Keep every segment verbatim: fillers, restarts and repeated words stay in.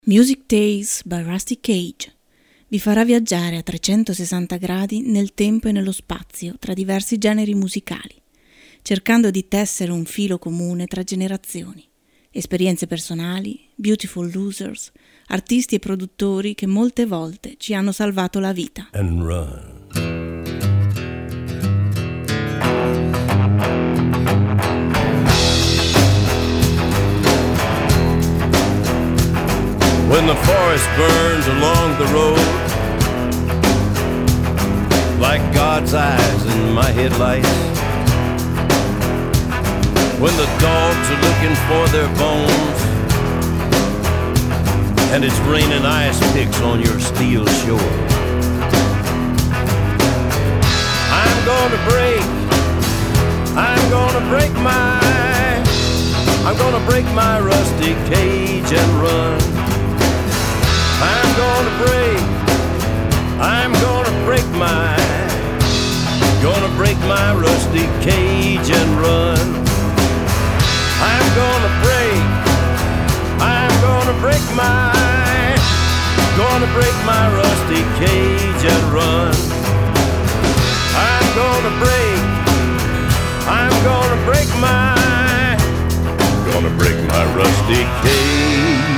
Music Days by Rusty Cage vi farà viaggiare a trecentosessanta gradi nel tempo e nello spazio tra diversi generi musicali, cercando di tessere un filo comune tra generazioni, esperienze personali, beautiful losers, artisti e produttori che molte volte ci hanno salvato la vita. And run. When the forest burns along the road, like God's eyes in my headlights, when the dogs are looking for their bones, and it's raining ice picks on your steel shore, I'm gonna break, I'm gonna break my, I'm gonna break my rusty cage and run. I'm gonna break, I'm gonna break my, gonna break my rusty cage and run. I'm gonna break, I'm gonna break my, gonna break my rusty cage and run. I'm gonna break, I'm gonna break my, gonna break my rusty cage.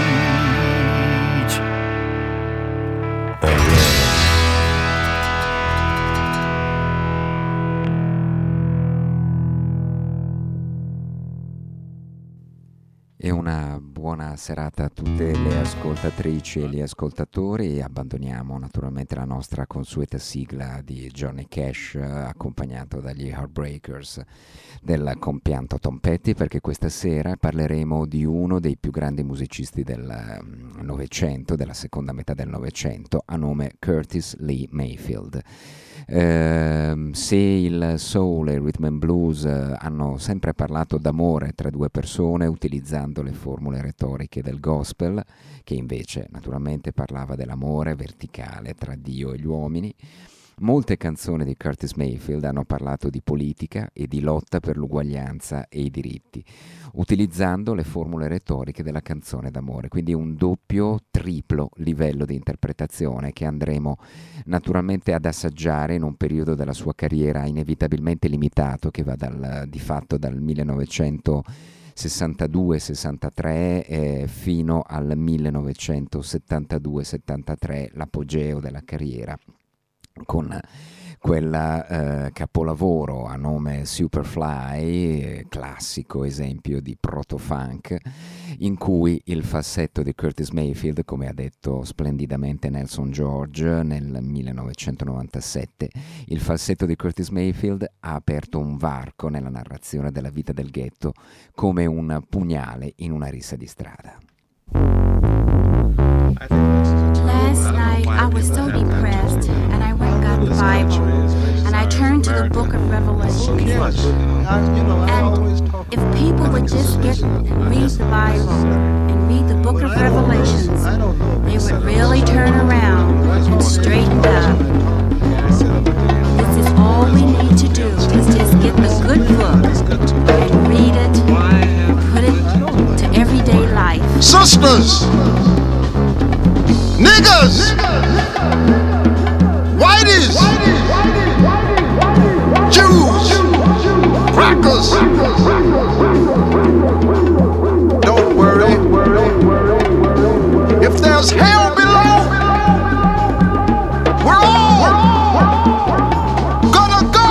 E una buona serata a tutte le ascoltatrici e gli ascoltatori. Abbandoniamo naturalmente la nostra consueta sigla di Johnny Cash, accompagnato dagli Heartbreakers del compianto Tom Petty, perché questa sera parleremo di uno dei più grandi musicisti del Novecento, della seconda metà del Novecento, a nome Curtis Lee Mayfield. Uh, se il soul e il rhythm and blues uh, hanno sempre parlato d'amore tra due persone utilizzando le formule retoriche del gospel, che invece naturalmente parlava dell'amore verticale tra Dio e gli uomini, molte canzoni di Curtis Mayfield hanno parlato di politica e di lotta per l'uguaglianza e i diritti, utilizzando le formule retoriche della canzone d'amore, quindi un doppio, triplo livello di interpretazione che andremo naturalmente ad assaggiare in un periodo della sua carriera inevitabilmente limitato, che va dal, di fatto dal millenovecentosessantadue sessantatré eh, fino al millenovecentosettantadue settantatré, l'apogeo della carriera, con quel eh, capolavoro a nome Superfly, eh, classico esempio di proto-funk, in cui il falsetto di Curtis Mayfield, come ha detto splendidamente Nelson George nel millenovecentonovantasette, il falsetto di Curtis Mayfield ha aperto un varco nella narrazione della vita del ghetto come un pugnale in una rissa di strada. Last night I was so depressed and I went and got the Bible and I turned to the book of Revelation. And if people would just get and read the Bible and read the book of Revelations, they would really turn around and straighten up. This is all we need to do, is just get the good book and read it and put it to everyday life. Sisters! Niggas, whiteys, Jews, crackers. Don't worry. If there's hell below, we're all gonna go.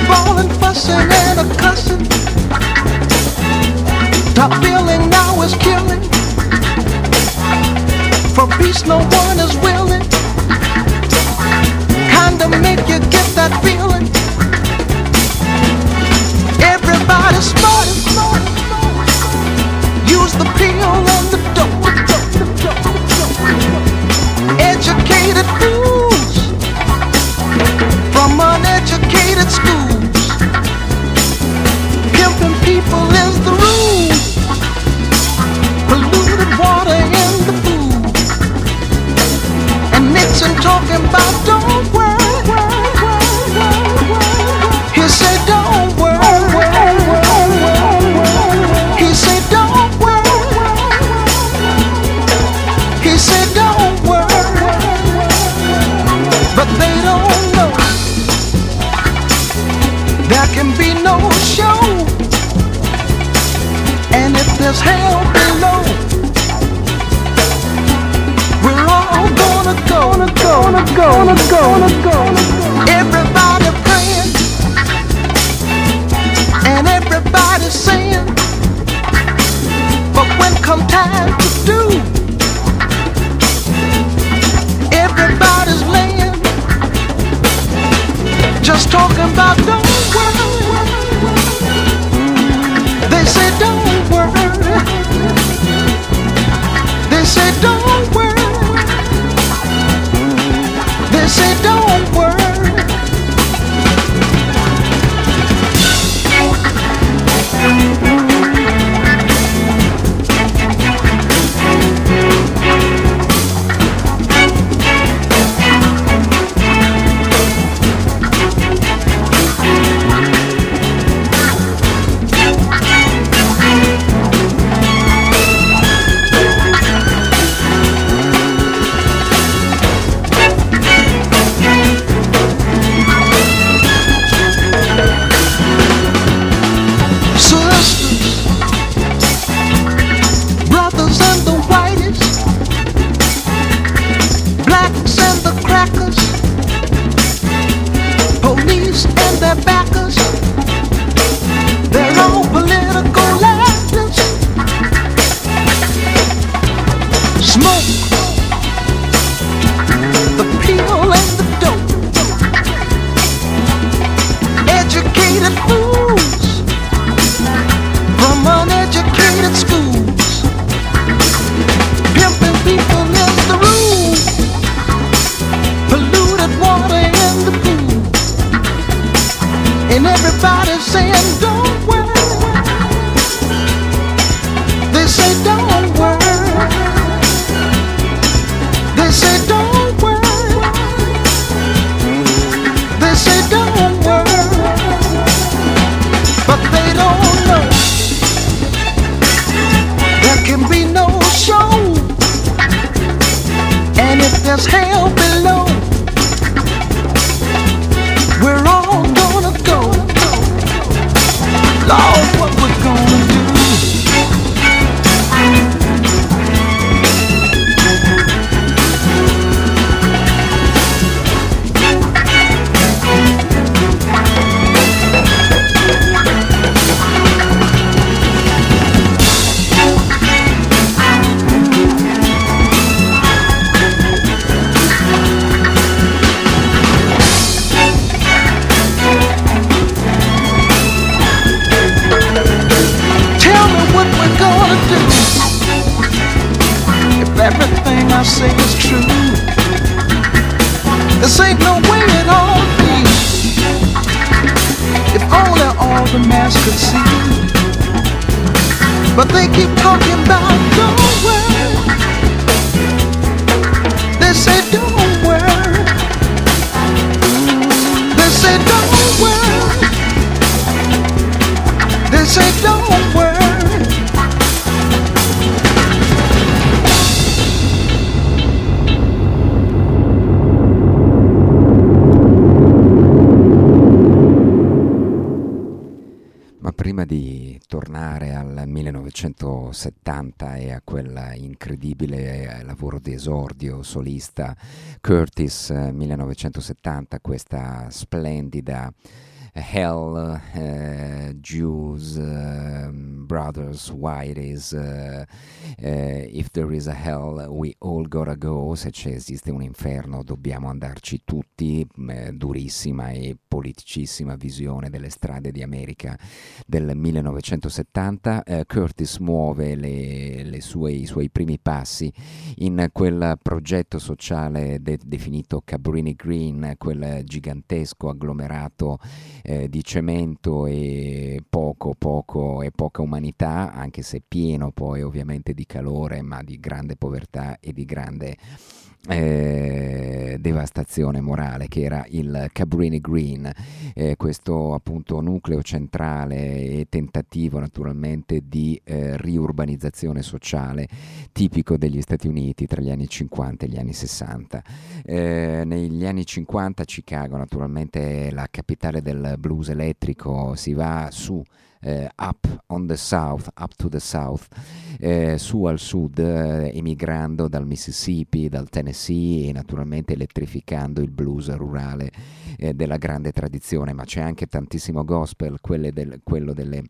bawling, fussing, and a cussing. Top billing now is killing. For peace no one is willing. Kinda make you get that feeling. Everybody smart, use the pill and the dope. Educated fools from uneducated schools. Pimping people is the rule. Polluted water in the food. And Nixon talking about don't worry. He said don't worry. He said don't worry. He said don't worry. But they don't know there can be no show. And if there's hell below, we're all gonna go, gonna go, gonna go, gonna go, gonna go. Everybody praying and everybody saying, but when come time to do, everybody's laying, just talking about don't worry. They say don't worry. They say don't worry. They say don't worry. millenovecentosettanta e a quel incredibile lavoro di esordio solista Curtis millenovecentosettanta, questa splendida Hell, uh, Jews, uh, brothers, whiteys, uh, uh, if there is a hell we all gotta go, se c'è, esiste un inferno dobbiamo andarci tutti, eh, durissima e politicissima visione delle strade di America del millenovecentosettanta. uh, Curtis muove le, le sue, i suoi primi passi in quel progetto sociale de- definito Cabrini Green, quel gigantesco agglomerato eh, di cemento e poco, poco e poca umanità, anche se pieno poi ovviamente di calore, ma di grande povertà e di grande Eh, devastazione morale, che era il Cabrini Green, eh, questo appunto nucleo centrale e tentativo naturalmente di eh, riurbanizzazione sociale tipico degli Stati Uniti tra gli anni cinquanta e gli anni sessanta. Eh, negli anni cinquanta Chicago naturalmente è la capitale del blues elettrico, si va su Uh, up on the south, up to the south, uh, su al sud, uh, emigrando dal Mississippi, dal Tennessee e naturalmente elettrificando il blues rurale uh, della grande tradizione, ma c'è anche tantissimo gospel, quelle del, quello delle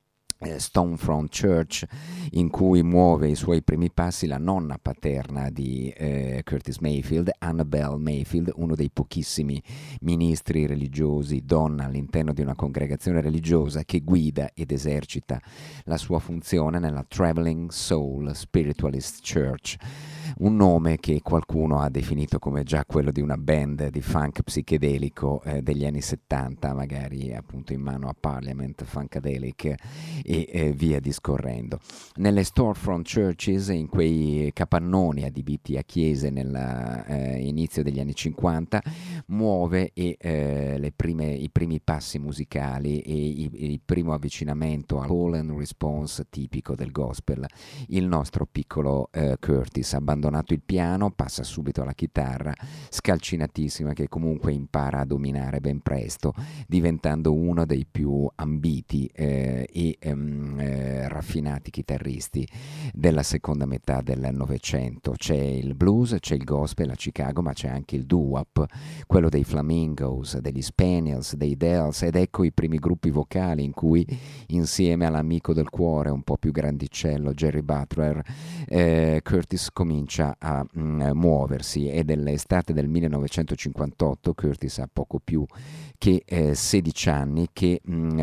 Stonefront Church, in cui muove i suoi primi passi la nonna paterna di eh, Curtis Mayfield, Annabelle Mayfield, uno dei pochissimi ministri religiosi donna all'interno di una congregazione religiosa che guida ed esercita la sua funzione nella Traveling Soul Spiritualist Church, un nome che qualcuno ha definito come già quello di una band di funk psichedelico eh, degli anni settanta, magari appunto in mano a Parliament Funkadelic e eh, via discorrendo. Nelle storefront churches, in quei capannoni adibiti a chiese nell'inizio eh, degli anni cinquanta, muove e, eh, le prime, i primi passi musicali e i, il primo avvicinamento al call and response tipico del gospel, il nostro piccolo eh, Curtis, abbandonato il piano, passa subito alla chitarra, scalcinatissima, che comunque impara a dominare ben presto, diventando uno dei più ambiti eh, e ehm, eh, raffinati chitarristi della seconda metà del Novecento. C'è il blues, c'è il gospel a Chicago, ma c'è anche il doo-wop, quello dei Flamingos, degli Spaniels, dei Dells, ed ecco i primi gruppi vocali in cui, insieme all'amico del cuore un po' più grandicello Jerry Butler, eh, Curtis comincia a mh, muoversi. Ed è l'estate del millenovecentocinquantotto, Curtis ha poco più che eh, sedici anni, che mh,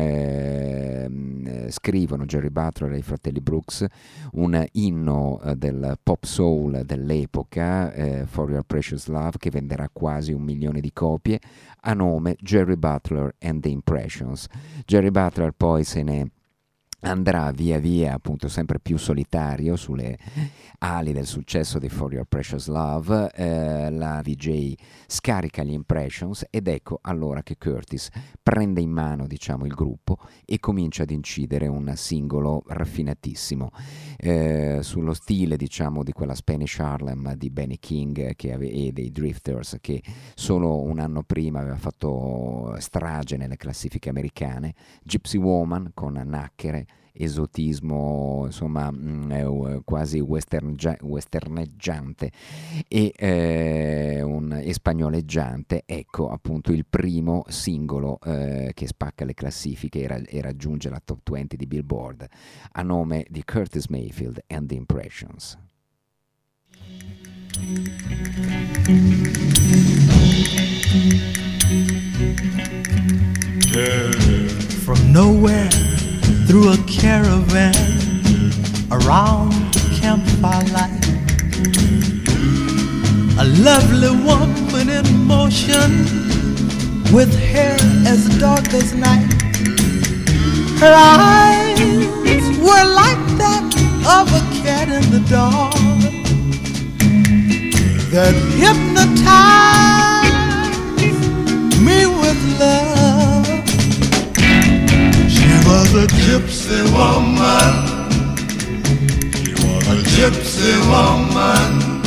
eh, scrivono Jerry Butler e i fratelli Brooks un inno eh, del pop soul dell'epoca, eh, For Your Precious Love, che venderà quasi un milione di copie, a nome Jerry Butler and the Impressions. Jerry Butler poi se ne andrà via via, appunto sempre più solitario sulle ali del successo di For Your Precious Love. eh, la V J scarica gli Impressions ed ecco allora che Curtis prende in mano, diciamo, il gruppo e comincia ad incidere un singolo raffinatissimo eh, sullo stile, diciamo, di quella Spanish Harlem di Benny King che ave- e dei Drifters, che solo un anno prima aveva fatto strage nelle classifiche americane. Gypsy Woman con Nacchere, esotismo insomma mh, quasi western, westerneggiante e, eh, un, e spagnoleggiante. Ecco appunto il primo singolo eh, che spacca le classifiche e, ra- e raggiunge la top venti di Billboard, a nome di Curtis Mayfield and the Impressions. From nowhere, through a caravan, around campfire light, a lovely woman in motion, with hair as dark as night. Her eyes were like that of a cat in the dark, that hypnotized me with love. She was a gypsy woman. She was a gypsy woman.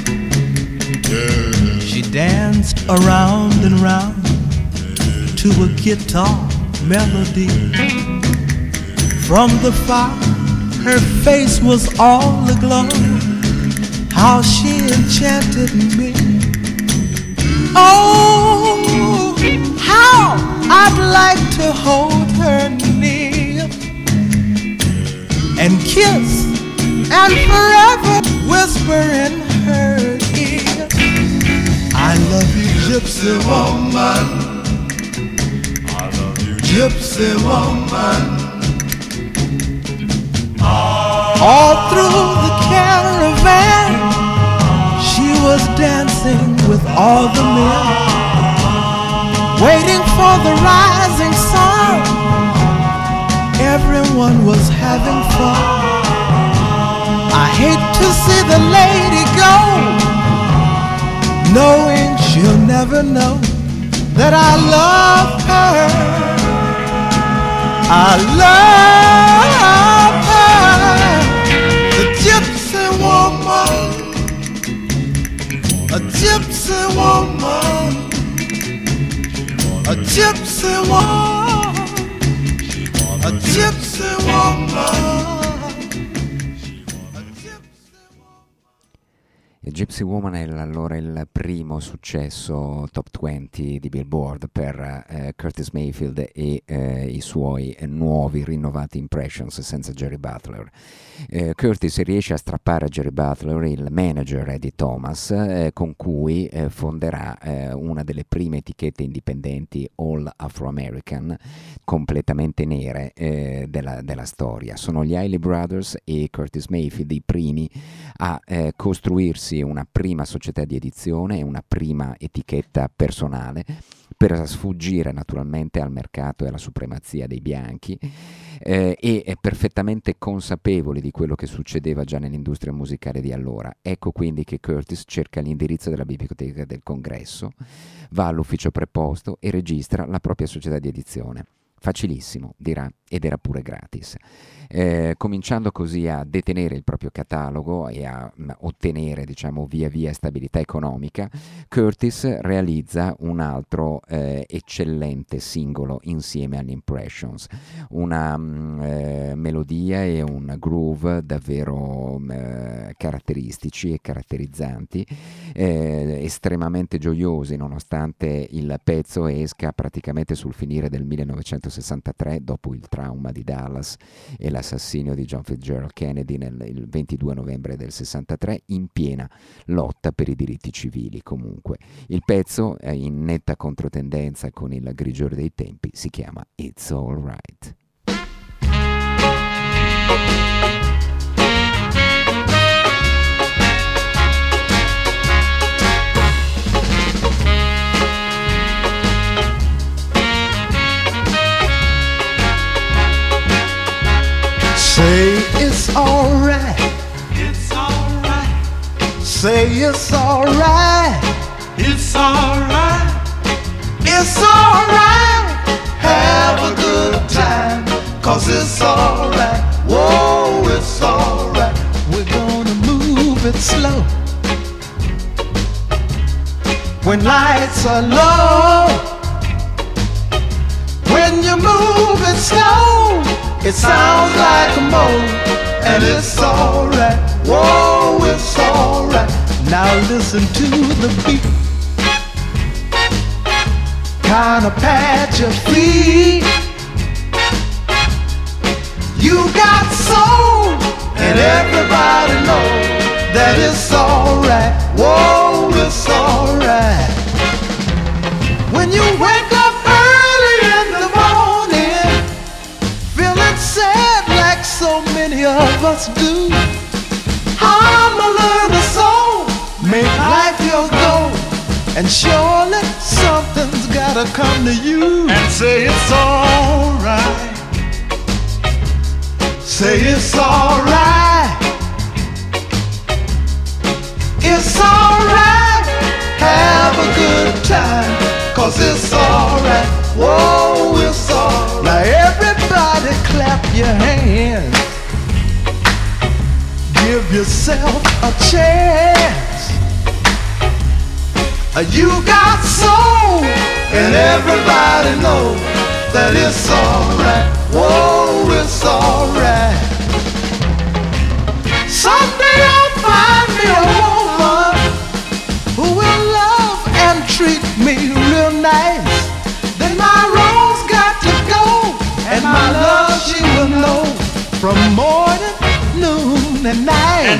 Yeah. She danced around and round to a guitar melody. From the fire, her face was all aglow. How she enchanted me. Oh, how I'd like to hold her near and kiss and forever whisper in her ear, I love you, gypsy woman. I love you, gypsy woman. All through the caravan, she was dancing with all the men, waiting for the rising sun. Everyone was having fun. I hate to see the lady go, knowing she'll never know that I love her. I love her, the gypsy woman, a gypsy woman, a gypsy woman, a gypsy woman. Gypsy Woman è allora il primo successo top venti di Billboard per eh, Curtis Mayfield e eh, i suoi eh, nuovi rinnovati Impressions senza Jerry Butler. Eh, Curtis riesce a strappare a Jerry Butler il manager Eddie Thomas, eh, con cui eh, fonderà eh, una delle prime etichette indipendenti all Afro-American completamente nere eh, della, della storia. Sono gli Hailey Brothers e Curtis Mayfield i primi a eh, costruirsi una prima società di edizione e una prima etichetta personale per sfuggire naturalmente al mercato e alla supremazia dei bianchi, eh, e perfettamente consapevoli di quello che succedeva già nell'industria musicale di allora. Ecco quindi che Curtis cerca l'indirizzo della biblioteca del Congresso, va all'ufficio preposto e registra la propria società di edizione. Facilissimo, dirà, ed era pure gratis. Eh, cominciando così a detenere il proprio catalogo e a mh, ottenere, diciamo, via via stabilità economica, Curtis realizza un altro eh, eccellente singolo insieme agli Impressions, una mh, eh, melodia e un groove davvero mh, caratteristici e caratterizzanti, eh, estremamente gioiosi, nonostante il pezzo esca praticamente sul finire del millenovecentosessantatré, dopo il trauma di Dallas e l'assassinio di John Fitzgerald Kennedy nel il ventidue novembre del sessantatré, in piena lotta per i diritti civili. Comunque il pezzo è in netta controtendenza con il grigiore dei tempi, si chiama It's All Right. Say it's alright. It's alright. Say it's alright. It's alright. It's alright. Have a good time, 'cause it's alright. Whoa, it's alright. We're gonna move it slow. When lights are low, when you move it slow, it sounds like a moan, and it's alright. Whoa, it's alright. Now listen to the beat, kinda pat your feet. You got soul, and everybody knows that it's alright. Whoa, it's alright. When you wake up early in the morning, feeling sad like so many of us do, I'm a little soul, make life your goal, and surely something's gotta come to you And say it's alright. Say it's alright. It's alright. Have a good time, 'cause it's alright. Whoa, it's alright. Now everybody clap your hands, give yourself a chance. You got soul, and everybody knows that it's alright. Whoa, it's alright. Someday I'll find me a woman who will love and treat me real nice. Then my road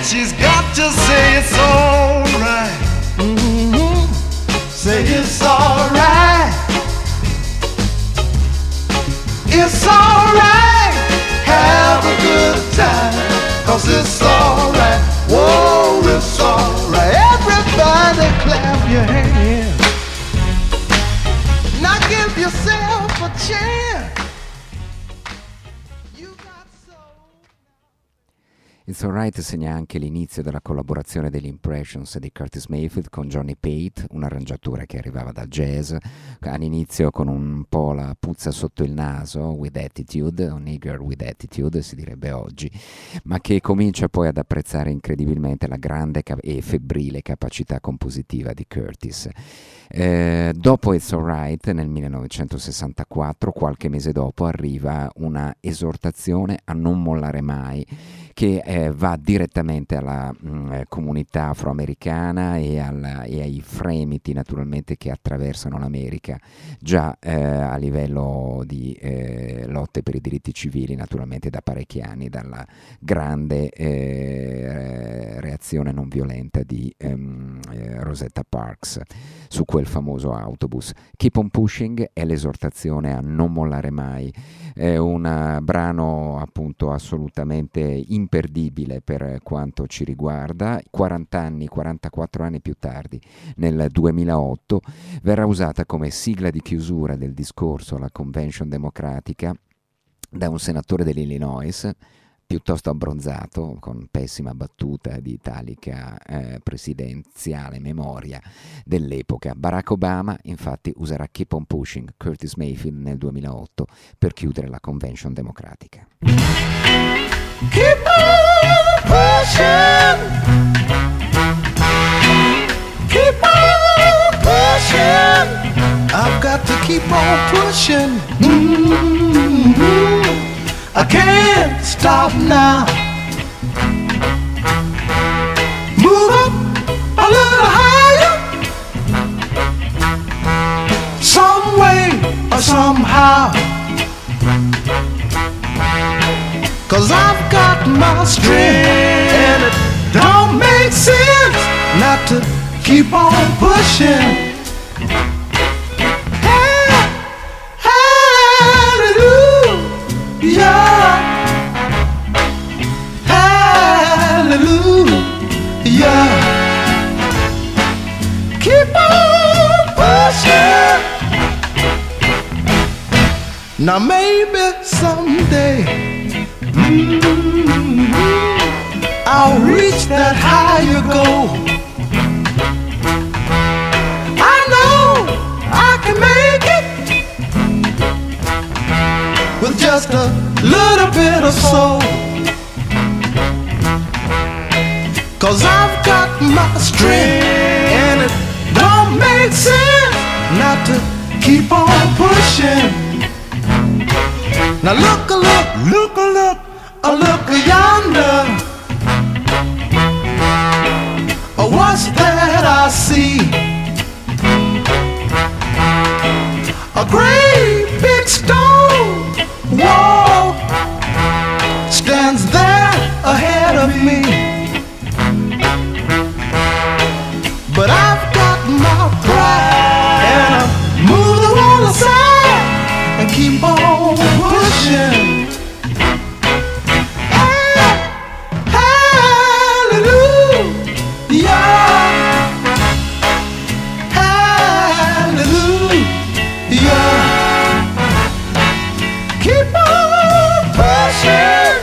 she's got to say it's alright. Mm-hmm. Say it's alright. It's alright. Have a good time, 'cause it's alright. Whoa, it's alright. Everybody clap your hands. Now give yourself a chance. You got so. It's Alright segna anche l'inizio della collaborazione degli Impressions di Curtis Mayfield con Johnny Pate, un arrangiatore che arrivava dal jazz, all'inizio con un po' la puzza sotto il naso, with attitude, un nigger with attitude si direbbe oggi, ma che comincia poi ad apprezzare incredibilmente la grande e febbrile capacità compositiva di Curtis. Eh, dopo It's Alright, nel millenovecentosessantaquattro, qualche mese dopo, arriva una esortazione a non mollare mai, che eh, va direttamente alla mh, comunità afroamericana e, alla, e ai fremiti naturalmente che attraversano l'America, già eh, a livello di eh, lotte per i diritti civili naturalmente da parecchi anni, dalla grande eh, reazione non violenta di ehm, eh, Rosetta Parks su quel famoso autobus. Keep on Pushing è l'esortazione a non mollare mai, è un uh, brano appunto assolutamente imperdibile per quanto ci riguarda. quaranta anni, quarantaquattro anni più tardi, nel duemilaotto, verrà usata come sigla di chiusura del discorso alla Convention Democratica da un senatore dell'Illinois piuttosto abbronzato, con pessima battuta di italica eh, presidenziale memoria dell'epoca. Barack Obama infatti userà Keep on Pushing, Curtis Mayfield, nel duemilaotto per chiudere la Convention Democratica. Keep on pushing. Keep on pushing. I've got to keep on pushing. Mm-hmm. I can't stop now. Move up a little higher, some way or somehow. 'Cause I've got my strength, and it don't make sense not to keep on pushing. Yeah, hallelujah, keep on pushing. Now maybe someday mm-hmm, I'll reach that higher goal. I know I can make it with just a little bit of soul. 'Cause I've got my strength, and it don't make sense not to keep on pushing. Now look a look, look a look, a look yonder. Oh, what's that I see? A great big stone wall stands there ahead of me, but I've got my pride, and I move the wall aside and keep on pushing. Hallelujah, hallelujah. Keep on pushing.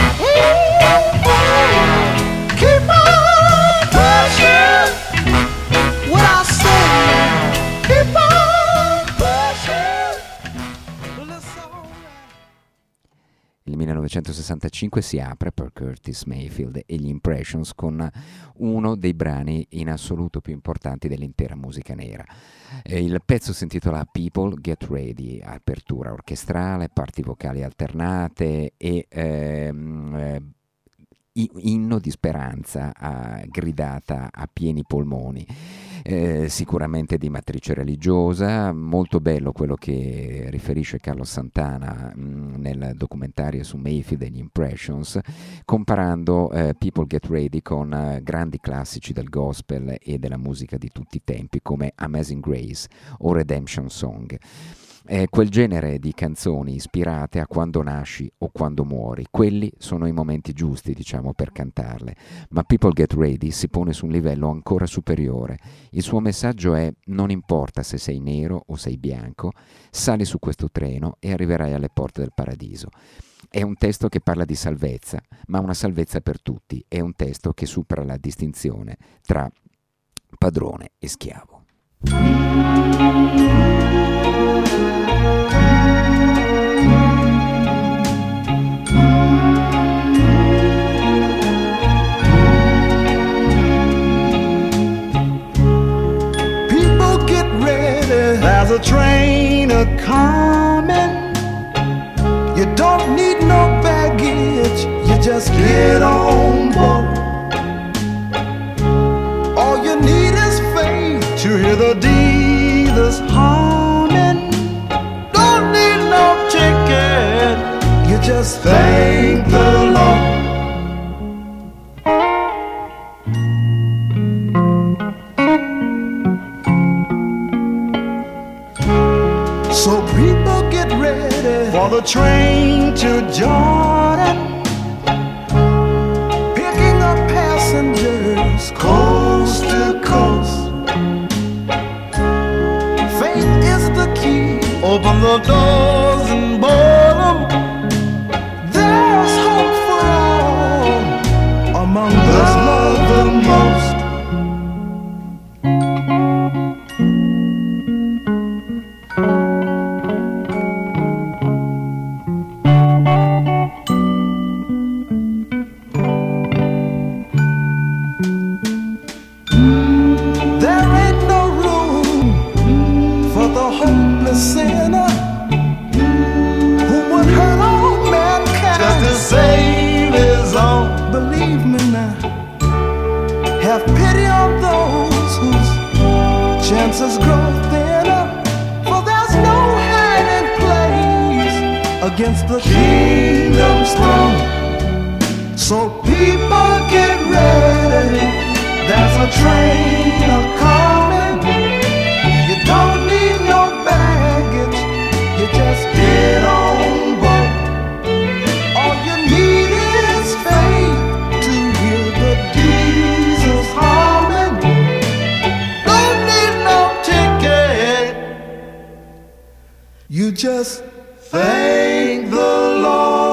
Keep on pushing. What I say, keep on pushing. Well, it's all right. Il millenovecentosessantacinque si apre per Curtis Mayfield e gli Impressions con uno dei brani in assoluto più importanti dell'intera musica nera. Eh, il pezzo si intitola People Get Ready, apertura orchestrale, parti vocali alternate e ehm, eh, inno di speranza a, gridata a pieni polmoni. eh, sicuramente di matrice religiosa. Molto bello quello che riferisce Carlos Santana mh, nel documentario su Mayfield e gli Impressions, comparando eh, People Get Ready con eh, grandi classici del gospel e della musica di tutti i tempi come Amazing Grace o Redemption Song. È quel genere di canzoni ispirate a quando nasci o quando muori. Quelli sono i momenti giusti, diciamo, per cantarle. Ma People Get Ready si pone su un livello ancora superiore. Il suo messaggio è: non importa se sei nero o sei bianco, sali su questo treno e arriverai alle porte del paradiso. È un testo che parla di salvezza, ma una salvezza per tutti. È un testo che supera la distinzione tra padrone e schiavo. There's a train a-comin'. You don't need no baggage, you just get on board. All you need is faith to hear the dealers humming. Don't need no ticket, you just thank the Lord. So people get ready for the train to Jordan, picking up passengers coast to coast. Faith is the key, open the doors and board them. There's hope for all among those love the most. Sinner who would hurt all mankind just to save his own. Believe me now, have pity on those whose chances grow thinner, for there's no hiding place against the kingdom's throne. So people get ready, there's a train a-coming. You don't need no baggage, you just get on board. All you need is faith to hear the Jesus humming. Don't need no ticket, you just thank the Lord.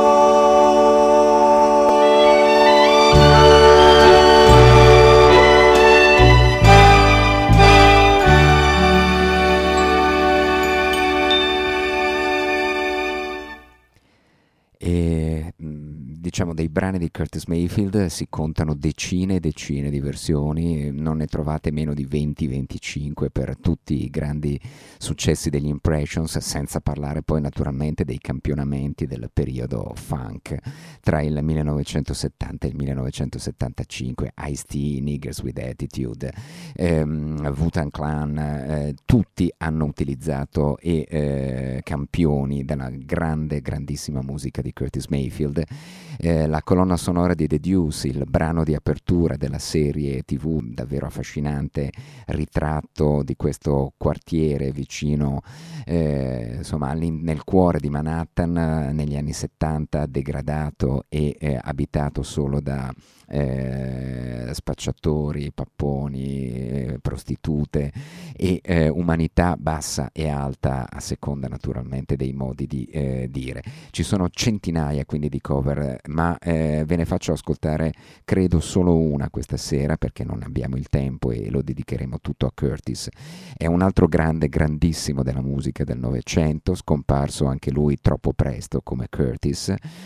Diciamo, dei brani di Curtis Mayfield si contano decine e decine di versioni, non ne trovate meno di venti venticinque per tutti i grandi successi degli Impressions, senza parlare poi naturalmente dei campionamenti del periodo funk tra il millenovecentosettanta e il millenovecentosettantacinque, Ice-T, Niggers with Attitude, ehm, Wu-Tang Clan, eh, tutti hanno utilizzato e eh, campioni della grande, grandissima musica di Curtis Mayfield. Eh, la colonna sonora di The Deuce, il brano di apertura della serie tivù davvero affascinante, ritratto di questo quartiere vicino, eh, insomma, nel cuore di Manhattan, negli anni settanta, degradato e eh, abitato solo da eh, spacciatori, papponi, eh, prostitute e eh, umanità bassa e alta a seconda naturalmente dei modi di eh, dire. Ci sono centinaia quindi di cover, ma eh, ve ne faccio ascoltare credo solo una questa sera perché non abbiamo il tempo e lo dedicheremo tutto a Curtis. È un altro grande, grandissimo della musica del Novecento, scomparso anche lui troppo presto come Curtis.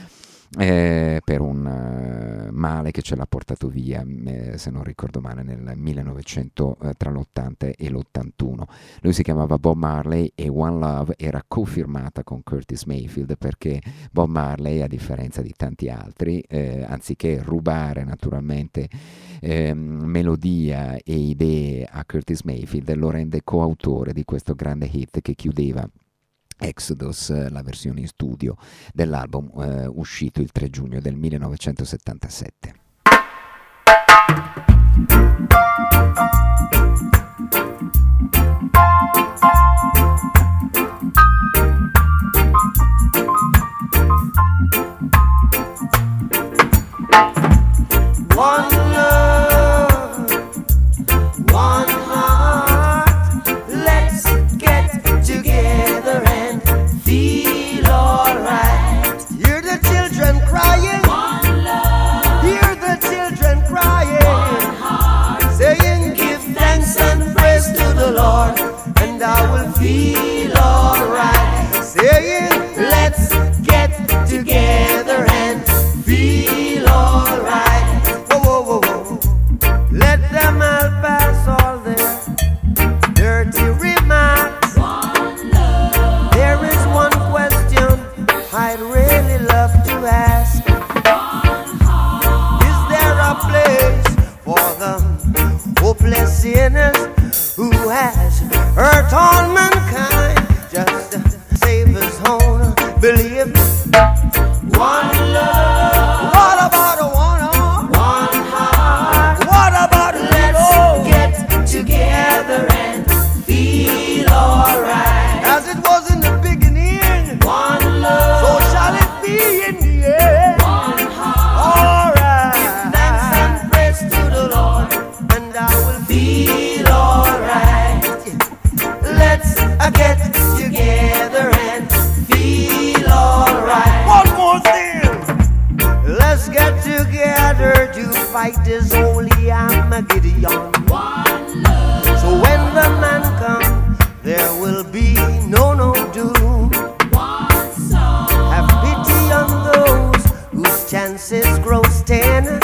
eh, per un uh, male che ce l'ha portato via, eh, se non ricordo male, nel millenovecento, eh, tra l'ottanta e l'ottantuno. Lui si chiamava Bob Marley e One Love era cofirmata con Curtis Mayfield, perché Bob Marley, a differenza di tanti altri, eh, anziché rubare naturalmente eh, melodia e idee a Curtis Mayfield, lo rende coautore di questo grande hit che chiudeva Exodus, la versione in studio dell'album eh, uscito il tre giugno del millenovecentosettantasette. One love, one heart, let's get together and feel alright. Hear the children crying, one love. Hear the children crying, one heart. Saying give thanks and praise to the Lord, and I will feel alright. Saying let's get together and feel alright. Let them all pass all their dirty remarks. One love. There is one question I'd really love to ask. One heart. Is there a place for the hopeless sinners who has hurt all mankind just to save his own belief? One love. What about a one heart? One heart. What about let's get together and feel alright? As it was in the beginning, one love. So shall it be in the end. One heart. Alright. Give thanks and praise to the Lord, and I will feel alright. Let's uh, get together and feel alright. One more thing. Let's get together to fight this holy Armageddon. One love. So when the man comes, there will be no no doom. One soul. Have pity on those whose chances grow ten.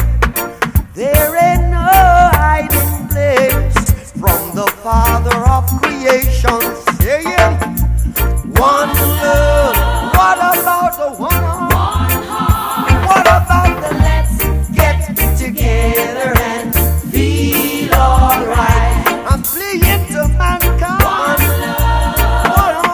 There ain't no hiding place from the Father of creation, saying one love. What about the one heart? One heart. What about the let's get together and feel alright? I'm pleading to mankind. One love.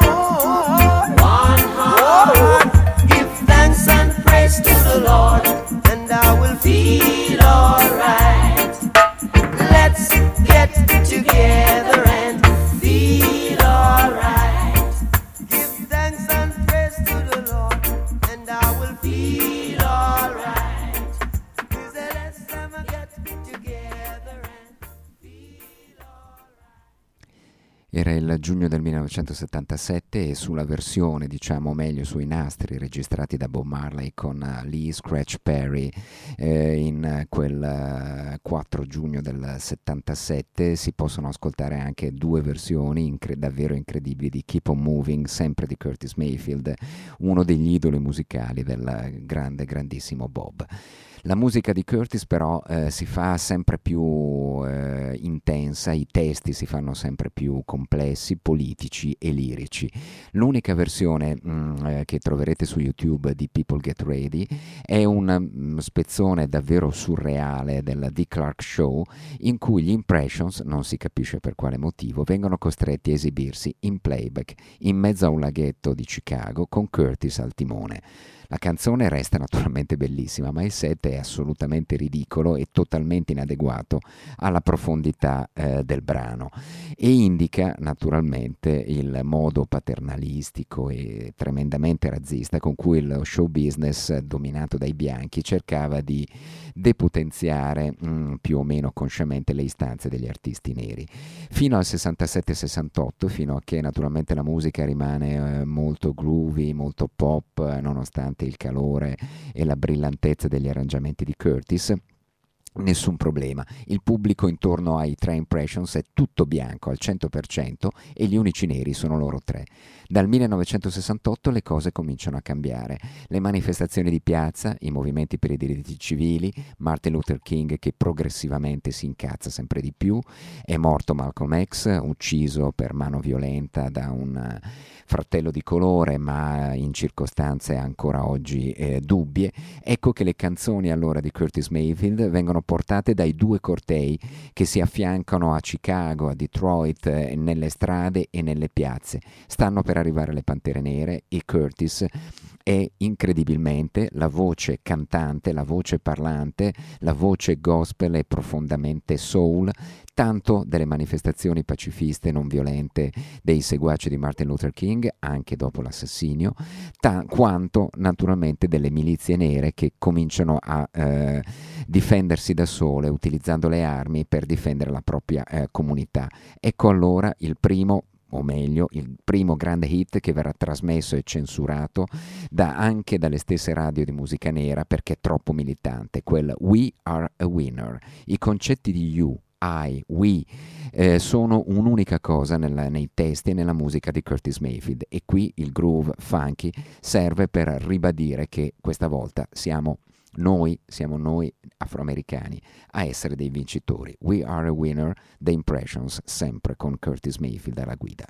One heart. One heart. Give thanks and praise to the Lord, and I will feel alright. Let's get together and feel alright. Give thanks and praise to the Lord, and I will feel alright. Is that let's ever get together and feel alright. Era il giugno del millenovecentosettantasette e sulla versione, diciamo meglio sui nastri registrati da Bob Marley con uh, Lee Scratch Perry eh, in quel uh, quattro giugno del settantasette si possono ascoltare anche due versioni incre- davvero incredibili di Keep on Moving, sempre di Curtis Mayfield, uno degli idoli musicali del grande, grandissimo Bob. La musica di Curtis però eh, si fa sempre più eh, intensa, i testi si fanno sempre più complessi, politici e lirici. L'unica versione mh, eh, che troverete su YouTube di People Get Ready è un mh, spezzone davvero surreale del Dick Clark Show, in cui gli Impressions, non si capisce per quale motivo, vengono costretti a esibirsi in playback in mezzo a un laghetto di Chicago con Curtis al timone. La canzone resta naturalmente bellissima, ma il set è assolutamente ridicolo e totalmente inadeguato alla profondità eh, del brano e indica naturalmente il modo paternalistico e tremendamente razzista con cui lo show business dominato dai bianchi cercava di depotenziare mh, più o meno consciamente le istanze degli artisti neri. Fino al sessantasette sessantotto, fino a che naturalmente la musica rimane eh, molto groovy, molto pop, eh, nonostante il calore e la brillantezza degli arrangiamenti di Curtis, nessun problema. Il pubblico intorno ai tre Impressions è tutto bianco al cento per cento e gli unici neri sono loro tre. Dal millenovecentosessantotto le cose cominciano a cambiare. Le manifestazioni di piazza, i movimenti per i diritti civili, Martin Luther King che progressivamente si incazza sempre di più, è morto Malcolm X, ucciso per mano violenta da un fratello di colore, ma in circostanze ancora oggi eh, dubbie. Ecco che le canzoni allora di Curtis Mayfield vengono portate dai due cortei che si affiancano a Chicago, a Detroit, eh, nelle strade e nelle piazze. Stanno per arrivare le Pantere Nere e Curtis è incredibilmente la voce cantante, la voce parlante, la voce gospel e profondamente soul, tanto delle manifestazioni pacifiste non violente dei seguaci di Martin Luther King, anche dopo l'assassinio, ta- quanto naturalmente delle milizie nere che cominciano a eh, difendersi da sole utilizzando le armi per difendere la propria eh, comunità. Ecco allora il primo, o meglio, il primo grande hit che verrà trasmesso e censurato da, anche dalle stesse radio di musica nera perché è troppo militante, quel We Are a Winner. I concetti di You, I, We eh, sono un'unica cosa nella, nei testi e nella musica di Curtis Mayfield, e qui il groove funky serve per ribadire che questa volta siamo noi, siamo noi afroamericani a essere dei vincitori. We Are a Winner, The Impressions, sempre con Curtis Mayfield alla guida.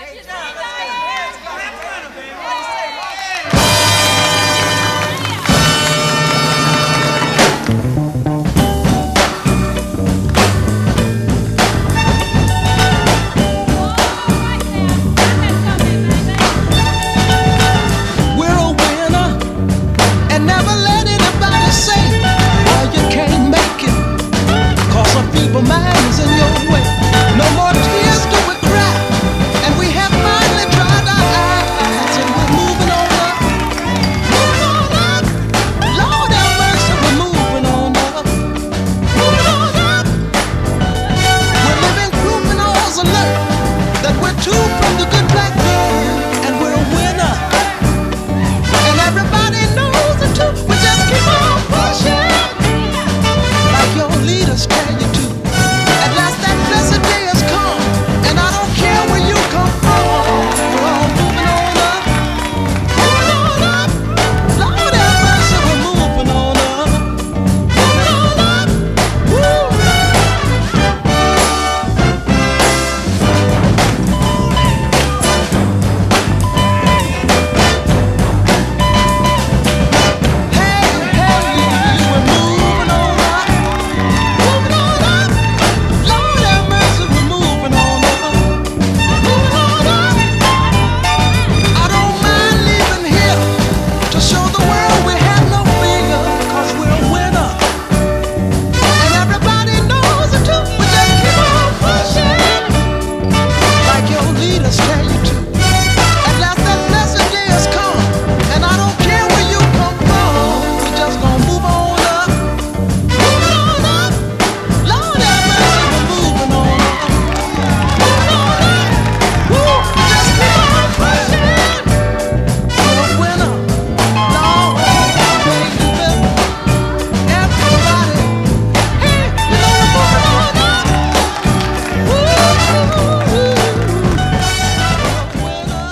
People minds in your way. No more tears do we cry, and we have finally dried our eyes, and we're moving on up, moving on up. Lord have mercy, we're moving on up, moving on up. We're living proof in all's alert that we're two from the good black man, and we're a winner, and everybody knows it too. We just keep on pushing, like your leaders tell you to. Blessed day has come, and I don't care where you come from. We're all moving on up, moving on up. Lord have mercy, we're moving on up, moving on up. Woo. Hey, hey, we're moving on up, moving on up. Lord have mercy, we're moving on up, moving on up. I don't mind leaving here to show the world we have no fear, 'cause we're a winner, and everybody knows it too. We just keep on pushing, like your leaders tell you to. At last that blessed day has come, and I don't care where you come from. We just gonna move on up, moving on up. Lord have mercy, we're moving on up, moving on up. Woo, just keep on pushing. We're a winner, Lord, baby. Everybody, hey, you know we're moving on up. Woo, we're a winner.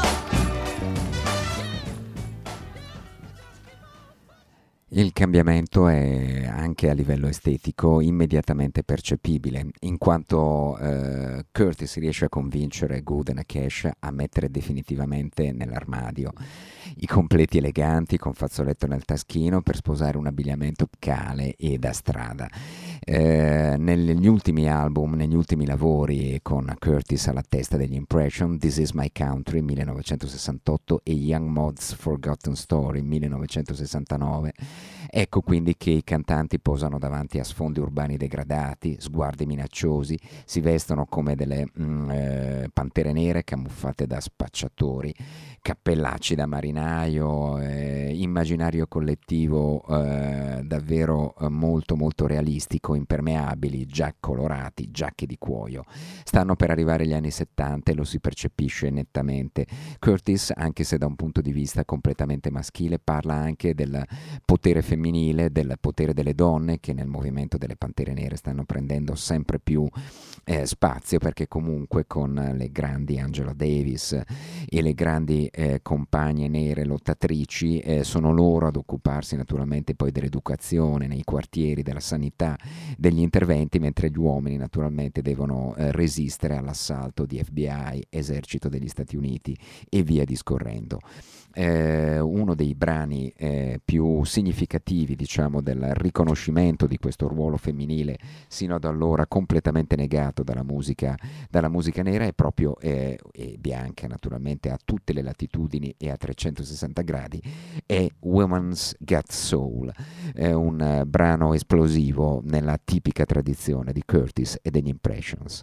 Il cambiamento è anche a livello estetico immediatamente percepibile, in quanto eh, Curtis riesce a convincere Good and Cash a mettere definitivamente nell'armadio i completi eleganti con fazzoletto nel taschino per sposare un abbigliamento cale e da strada. Eh, negli ultimi album, negli ultimi lavori con Curtis alla testa degli Impression, This Is My Country millenovecentosessantotto e Young Mod's Forgotten Story millenovecentosessantanove, ecco quindi che i cantanti posano davanti a sfondi urbani degradati, sguardi minacciosi, si vestono come delle mm, eh, pantere nere camuffate da spacciatori, cappellacci da marinaio, eh, immaginario collettivo eh, davvero eh, molto molto realistico, impermeabili, già colorati, giacche di cuoio. Stanno per arrivare gli anni settanta e lo si percepisce nettamente. Curtis, anche se da un punto di vista completamente maschile, parla anche del potere femminile femminile, del potere delle donne, che nel movimento delle Pantere Nere stanno prendendo sempre più eh, spazio, perché comunque con le grandi Angela Davis e le grandi eh, compagne nere lottatrici eh, sono loro ad occuparsi naturalmente poi dell'educazione nei quartieri, della sanità, degli interventi, mentre gli uomini naturalmente devono eh, resistere all'assalto di F B I, esercito degli Stati Uniti e via discorrendo. Eh, uno dei brani eh, più significativi, diciamo, del riconoscimento di questo ruolo femminile sino ad allora completamente negato dalla musica, dalla musica nera è proprio eh, e bianca naturalmente a tutte le latitudini e a trecentosessanta gradi, è Woman's Got Soul, è un uh, brano esplosivo nella tipica tradizione di Curtis e degli Impressions.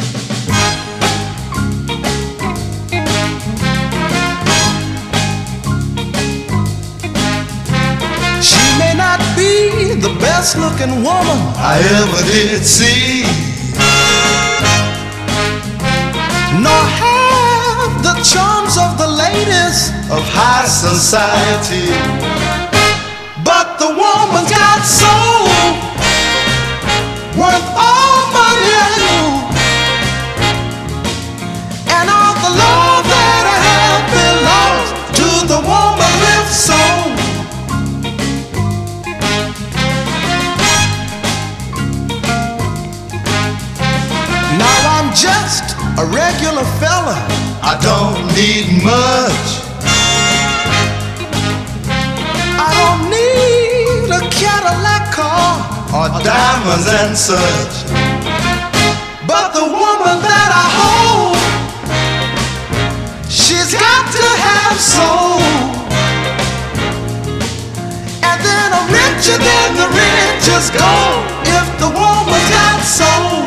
She may not be the best looking woman I ever did see, nor have the charms of the ladies of high society, but the woman's got soul, worth all money I know, and all the love that I have belongs to the woman with soul. Now I'm just a regular fella, I don't need much, I don't need a Cadillac car or diamonds and such, but the woman that I hold, she's got to have soul, and then I'm richer than the richest gold if the woman's got soul.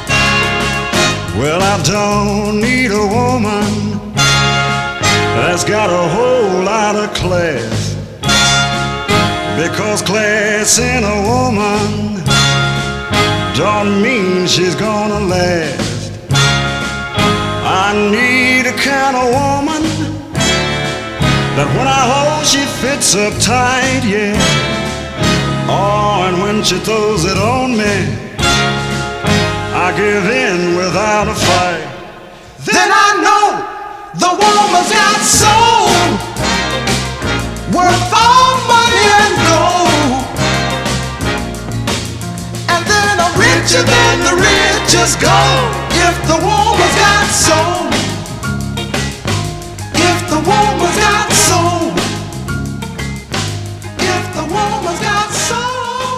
Well, I don't need a woman that's got a whole lot of class, because class in a woman don't mean she's gonna last. I need a kind of woman that when I hold she fits up tight, yeah. Oh, and when she throws it on me, I give in without a fight. Then I know the woman's got soul, worth all money and gold, and then I'm richer than the richest gold if the woman's got soul, if the woman's got soul, if the woman's got soul.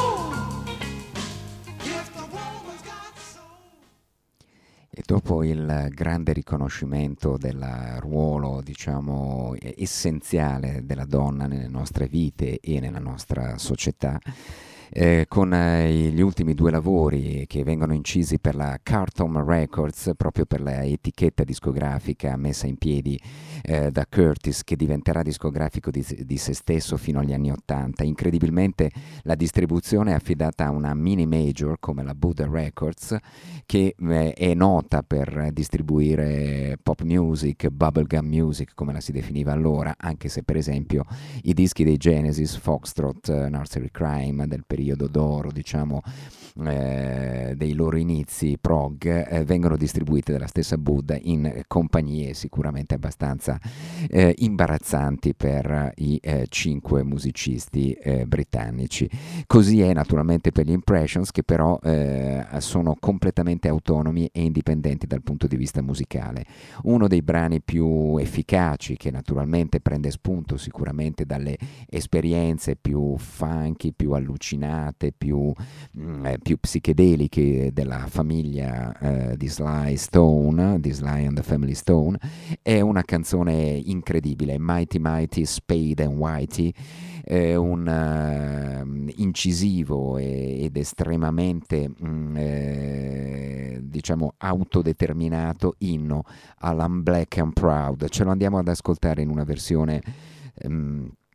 E dopo il grande riconoscimento del ruolo, diciamo, essenziale della donna nelle nostre vite e nella nostra società, eh, con eh, gli ultimi due lavori che vengono incisi per la Carlton Records, proprio per la etichetta discografica messa in piedi eh, da Curtis, che diventerà discografico di, di se stesso fino agli anni ottanta. Incredibilmente la distribuzione è affidata a una mini major come la Buddha Records, che eh, è nota per distribuire pop music, bubblegum music come la si definiva allora, anche se per esempio i dischi dei Genesis, Foxtrot, uh, Nursery Crime del periodo d'oro, diciamo, eh, dei loro inizi prog, eh, vengono distribuiti dalla stessa Buddha in compagnie sicuramente abbastanza eh, imbarazzanti per i eh, cinque musicisti eh, britannici. Così è naturalmente per gli Impressions, che però eh, sono completamente autonomi e indipendenti dal punto di vista musicale. Uno dei brani più efficaci, che naturalmente prende spunto sicuramente dalle esperienze più funky, più allucinate, più, mh, eh, più psichedeliche della famiglia eh, di Sly Stone, di Sly and the Family Stone, è una canzone incredibile, Mighty Mighty Spade and Whitey, eh, un uh, incisivo e, ed estremamente mh, eh, diciamo autodeterminato inno all'Am Black and Proud. Ce lo andiamo ad ascoltare in una versione um,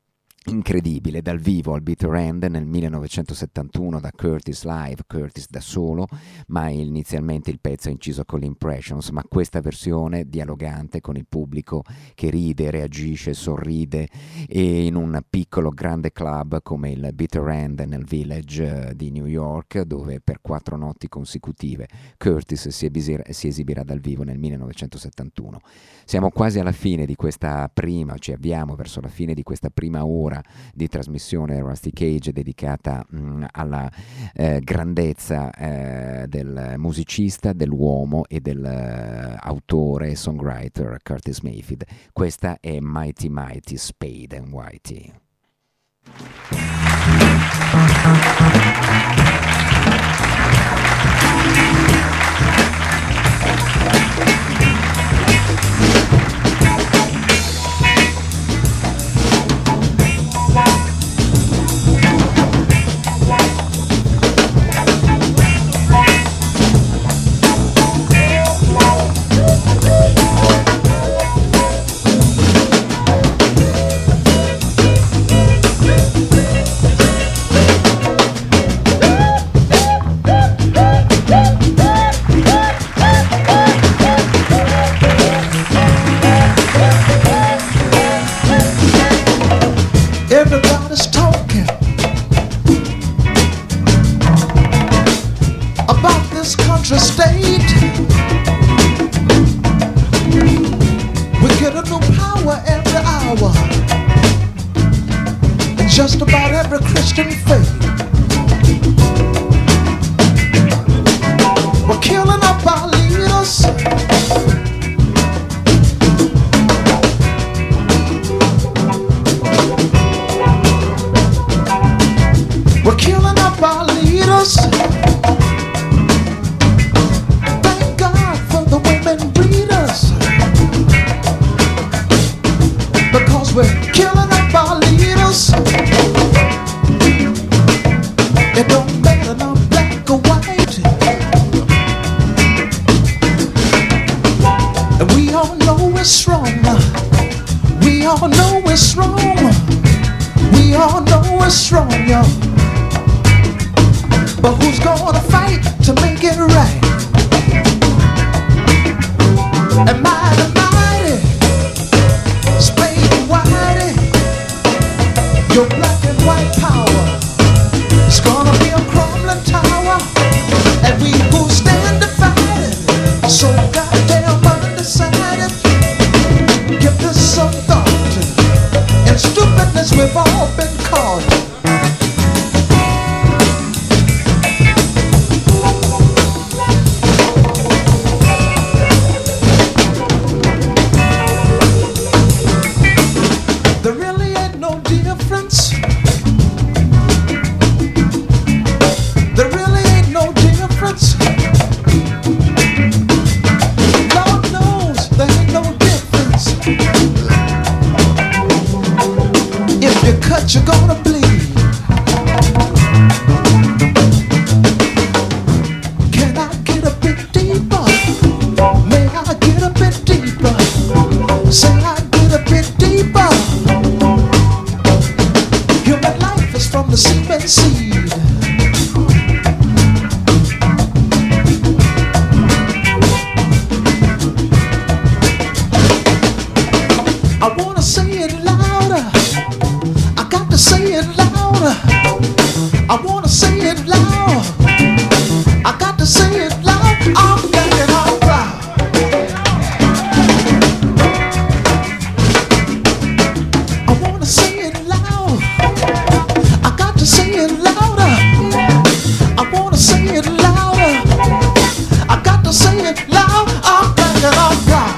incredibile dal vivo al Bitter End nel millenovecentosettantuno da Curtis Live, Curtis da solo, ma inizialmente il pezzo è inciso con l'Impressions, ma questa versione dialogante con il pubblico che ride, reagisce, sorride, e in un piccolo grande club come il Bitter End nel Village di New York, dove per quattro notti consecutive Curtis si esibirà, si esibirà dal vivo nel millenovecentosettantuno. Siamo quasi alla fine di questa prima, ci avviamo verso la fine di questa prima ora di trasmissione Rusty Cage dedicata mh, alla eh, grandezza eh, del musicista, dell'uomo e dell'autore e songwriter Curtis Mayfield. Questa è Mighty Mighty Spade and Whitey. Everybody's talking about this country state. We get a new power every hour in just about every Christian faith. We're killing up our leaders. We're killing up our leaders. Thank God for the women breeders, because we're killing up our leaders. It don't matter no black or white, and we all know it's wrong. We all know it's wrong. We all know it's wrong, y'all. But who's gonna fight to make it right? And mighty, mighty, Spade and Whitey, your black and white power is gonna be a crumbling tower, and we who stand divided, so goddamn undecided. Give this some thought, and stupidness we've all been caught. You're gonna bleed. Can I get a bit deeper? May I get a bit deeper? Say I get a bit deeper. Human life is from the semen seed. I wanna say it louder. Say it louder. I wanna say it loud. I got to say it loud. I'm getting all proud. I wanna say it loud. I got to say it louder. I wanna say it louder. I got to say it loud. I'm getting all proud.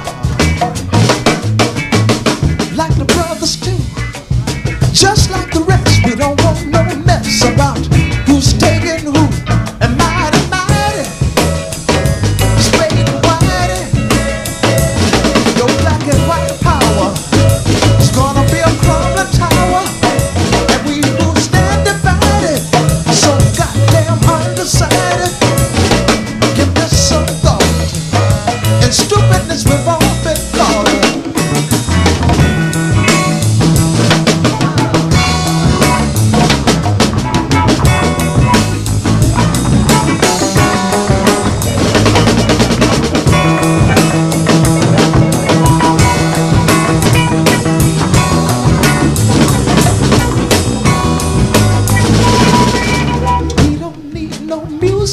Like the brothers too. Just like the rest, we don't want no mess about who's taking who. And mighty, mighty, Spade and Whitey, your black and white power is gonna be a crumbling tower, and we who stand divided, so goddamn undecided. Give this some thought, and stupidness we've all been caught.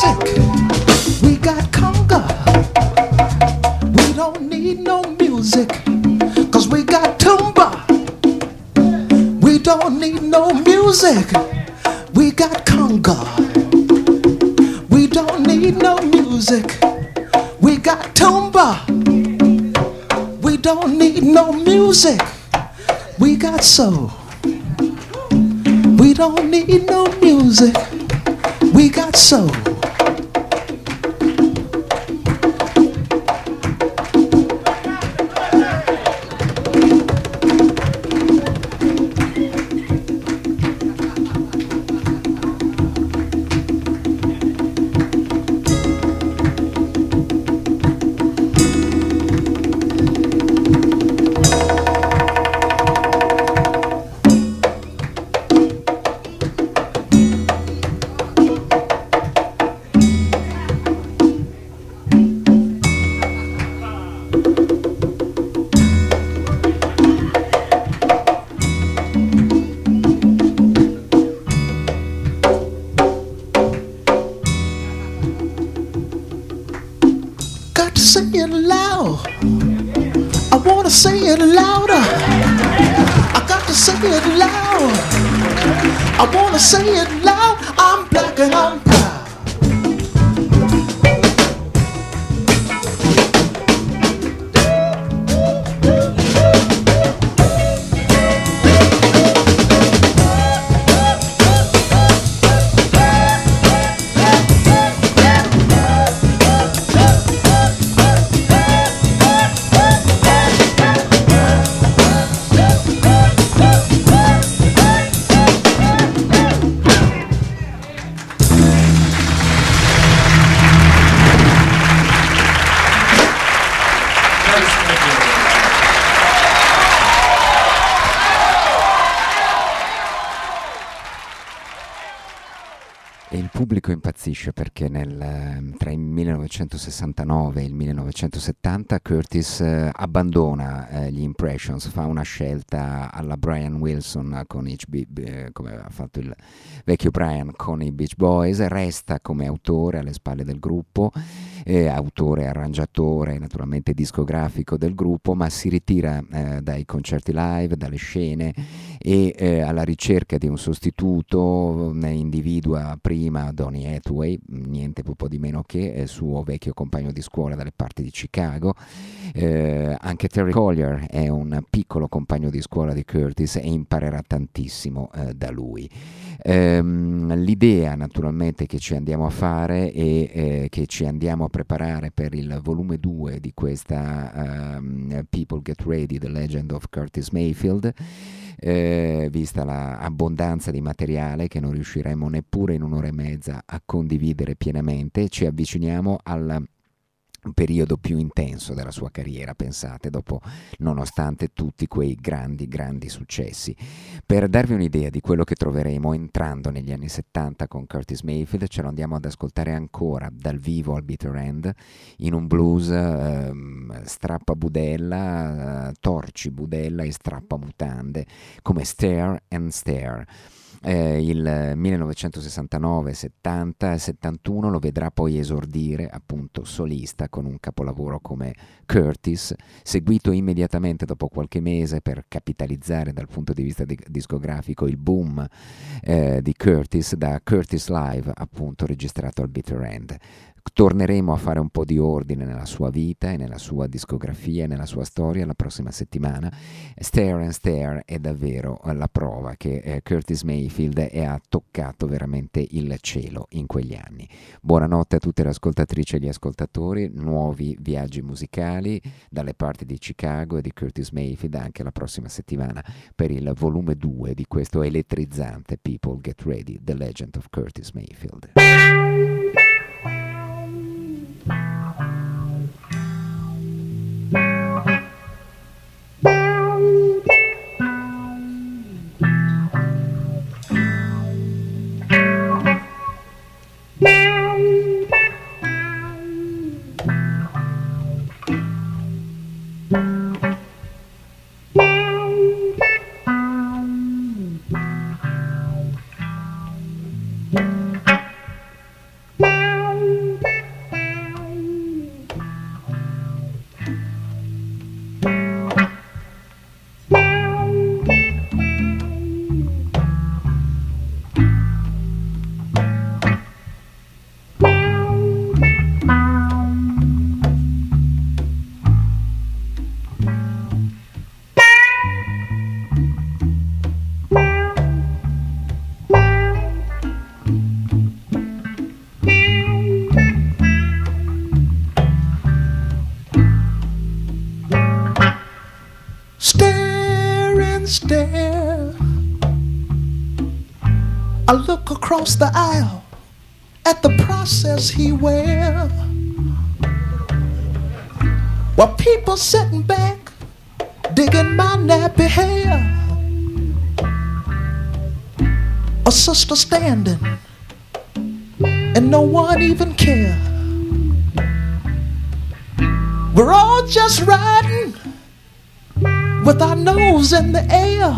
music. We got conga. We don't need no music, cause we got tumba. We don't need no music. We got conga. We don't need no music. We got tumba. We don't need no music. We got soul. We don't need no music. We got soul. Say it loud. I wanna say it louder. I got to say it loud. I wanna say it loud. I'm black and I'm proud. Impazzisce perché nel, tra il millenovecentosessantanove e il millenovecentosettanta Curtis eh, abbandona eh, gli Impressions, fa una scelta alla Brian Wilson con H B, eh, come aveva fatto il vecchio Brian con i Beach Boys, resta come autore alle spalle del gruppo, eh, autore, arrangiatore, naturalmente discografico del gruppo, ma si ritira eh, dai concerti live, dalle scene e eh, alla ricerca di un sostituto ne individua prima Donny Hathaway, niente po' di meno che il suo vecchio compagno di scuola dalle parti di Chicago. Eh, anche Terry Collier è un piccolo compagno di scuola di Curtis e imparerà tantissimo eh, da lui. Ehm, l'idea naturalmente che ci andiamo a fare e eh, che ci andiamo a preparare per il volume due di questa um, People Get Ready, The Legend of Curtis Mayfield, Eh, vista l'abbondanza di materiale che non riusciremo neppure in un'ora e mezza a condividere pienamente, ci avviciniamo al periodo più intenso della sua carriera, pensate, dopo, nonostante tutti quei grandi grandi successi. Per darvi un'idea di quello che troveremo entrando negli anni settanta con Curtis Mayfield, ce lo andiamo ad ascoltare ancora dal vivo al Bitter End in un blues eh, strappa budella, eh, torci budella e strappa mutande, come Stare and Stare. Eh, il millenovecentosessantanove, settanta e settantuno lo vedrà poi esordire appunto solista con un capolavoro come Curtis, seguito immediatamente dopo qualche mese per capitalizzare dal punto di vista di- discografico il boom eh, di Curtis da Curtis Live, appunto registrato al Bitter End. Torneremo a fare un po' di ordine nella sua vita e nella sua discografia e nella sua storia la prossima settimana. Stare and Stare è davvero la prova che eh, Curtis Mayfield è, ha toccato veramente il cielo in quegli anni. Buonanotte a tutte le ascoltatrici e gli ascoltatori, nuovi viaggi musicali dalle parti di Chicago e di Curtis Mayfield anche la prossima settimana per il volume due di questo elettrizzante People Get Ready, The Legend of Curtis Mayfield. Wow. I look across the aisle at the process he wear, while people sitting back digging my nappy hair. A sister standing and no one even care. We're all just riding with our nose in the air.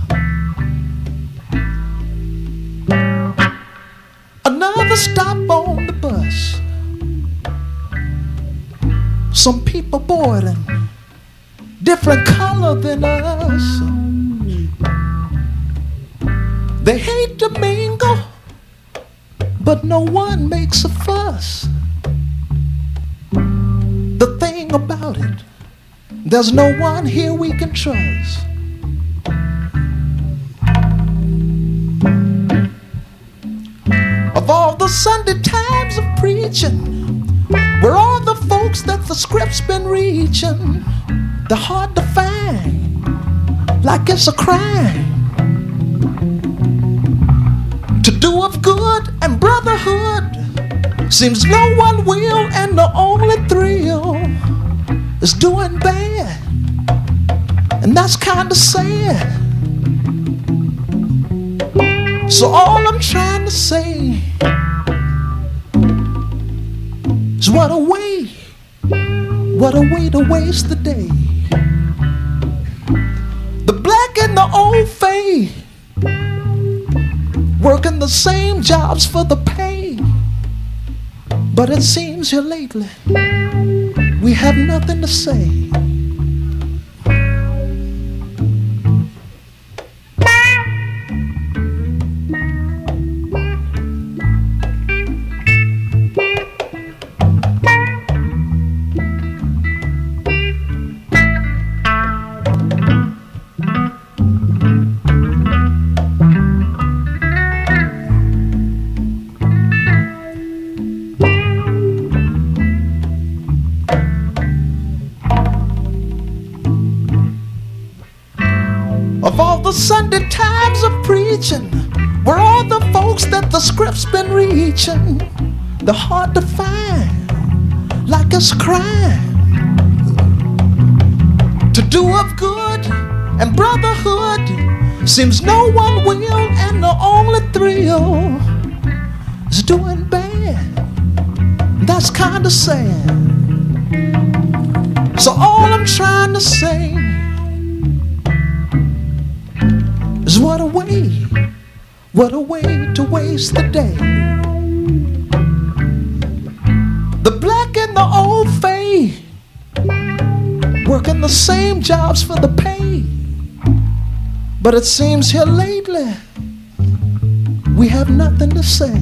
Another stop on the bus. Some people boarding, different color than us. They hate to mingle, but no one makes a fuss. The thing about it, there's no one here we can trust. Of all the Sunday times of preaching, where all the folks that the script's been reaching, they're hard to find, like it's a crime to do of good and brotherhood. Seems no one will, and the only thrill is doing bad, and that's kinda sad. So all I'm trying to say is what a way, what a way to waste the day. The black and the old fade, working the same jobs for the pay. But it seems here lately we have nothing to say. Of all the Sunday times of preaching, where all the folks that the script's been reaching, they're hard to find, like it's a crime to do of good and brotherhood. Seems no one will, and the only thrill is doing bad. That's kinda sad. So all I'm trying to say is what a way, what a way to waste the day. The black and the old fade, working the same jobs for the pay. But it seems here lately we have nothing to say.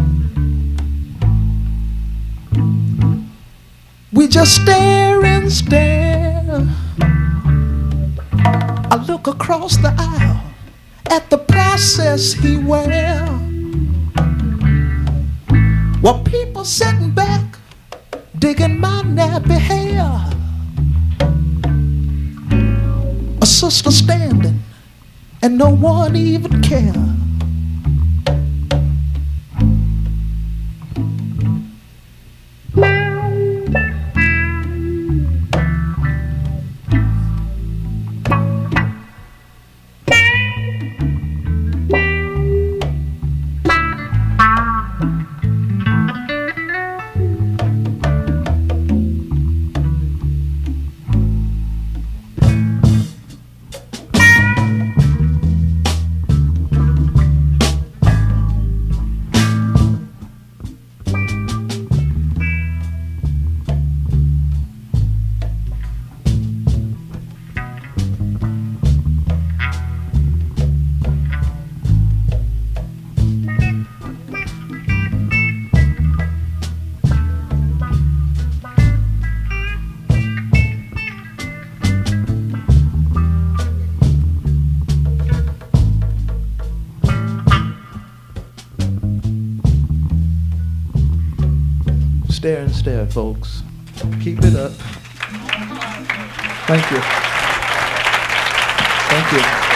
We just stare and stare. I look across the aisle at the process he wear, while people sitting back digging my nappy hair. A sister standing and no one even care. Stare and stare, folks. Keep it up. Thank you. Thank you.